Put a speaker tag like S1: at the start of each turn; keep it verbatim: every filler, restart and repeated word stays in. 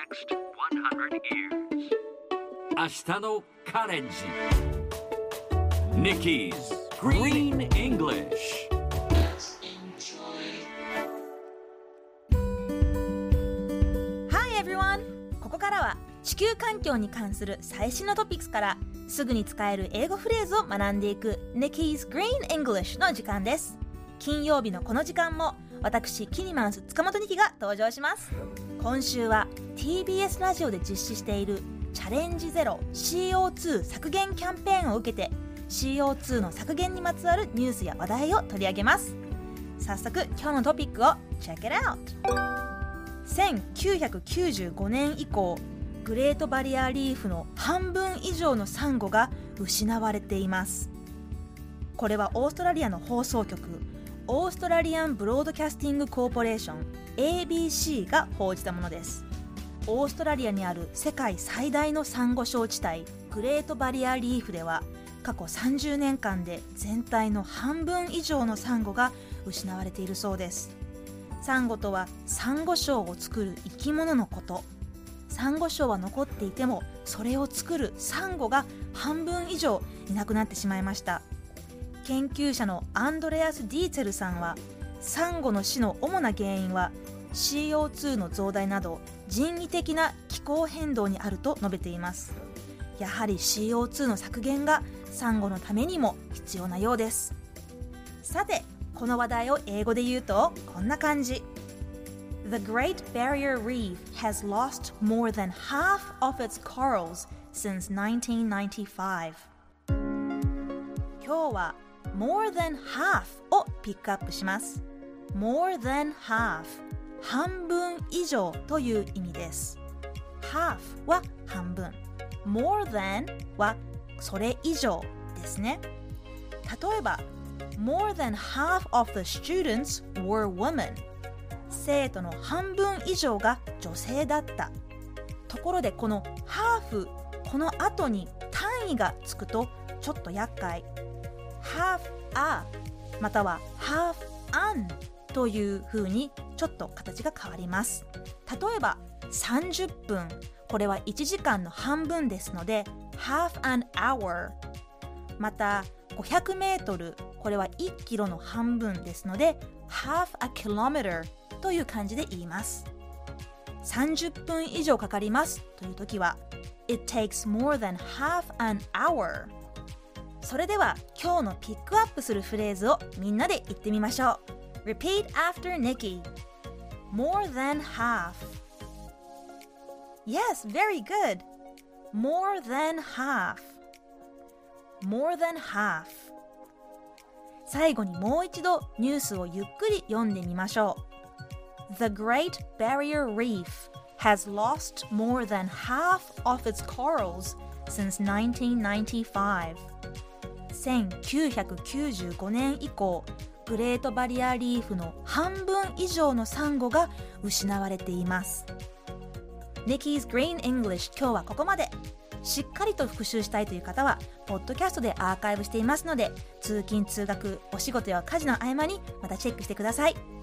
S1: next one hundred years. 明日のカレンジ Nikki's Green English。
S2: Hi everyone! ここからは地球環境に関する最新のトピックスからすぐに使える英語フレーズを学んでいく Nikki's Green English の時間です。金曜日のこの時間も私キニマンス塚本ニキが登場します。今週は ティービーエス ラジオで実施しているチャレンジゼロ シーオーツー 削減キャンペーンを受けて シーオーツー の削減にまつわるニュースや話題を取り上げます。早速今日のトピックを Check it out。 せんきゅうひゃくきゅうじゅうごねん以降グレートバリアリーフの半分以上のサンゴが失われています。これはオーストラリアの放送局オーストラリアンブロードキャスティングコーポレーション エービーシー が報じたものです。オーストラリアにある世界最大のサンゴ礁地帯グレートバリアリーフでは過去さんじゅうねんかんで全体の半分以上のサンゴが失われているそうです。サンゴとはサンゴ礁を作る生き物のこと。サンゴ礁は残っていてもそれを作るサンゴが半分以上いなくなってしまいました。研究者のアンドレアス・ディーツェルさんはサンゴの死の主な原因は シーオーツー の増大など人為的な気候変動にあると述べています。やはり シーオーツー の削減がサンゴのためにも必要なようです。さてこの話題を英語で言うとこんな感じ。 The Great Barrier Reef has lost more than half of its corals since nineteen ninety-five。 今日は more than half をピックアップします。 more than half 半分以上という意味です。 half は半分、 more than はそれ以上ですね。例えば more than half of the students were women。 生徒の半分以上が女性だった。ところでこの half この後に単位がつくとちょっと厄介。half a または half an という風にちょっと形が変わります。例えばさんじゅっぷん、これはいちじかんの半分ですので half an hour。 またごひゃくメートル、これはいちキロの半分ですので half a kilometer という感じで言います。さんじゅっぷん以上かかりますという時は It takes more than half an hour。それでは今日のピックアップするフレーズをみんなで言ってみましょう。 Repeat after Nikki。 More than half。 Yes, very good。 More than half。 More than half。 最後にもう一度ニュースをゆっくり読んでみましょう。 The Great Barrier Reef has lost more than half of its corals since nineteen ninety-five。せんきゅうひゃくきゅうじゅうごねん以降グレートバリアリーフの半分以上のサンゴが失われています。 Nikki's Green English 今日はここまで。しっかりと復習したいという方はポッドキャストでアーカイブしていますので通勤通学お仕事や家事の合間にまたチェックしてください。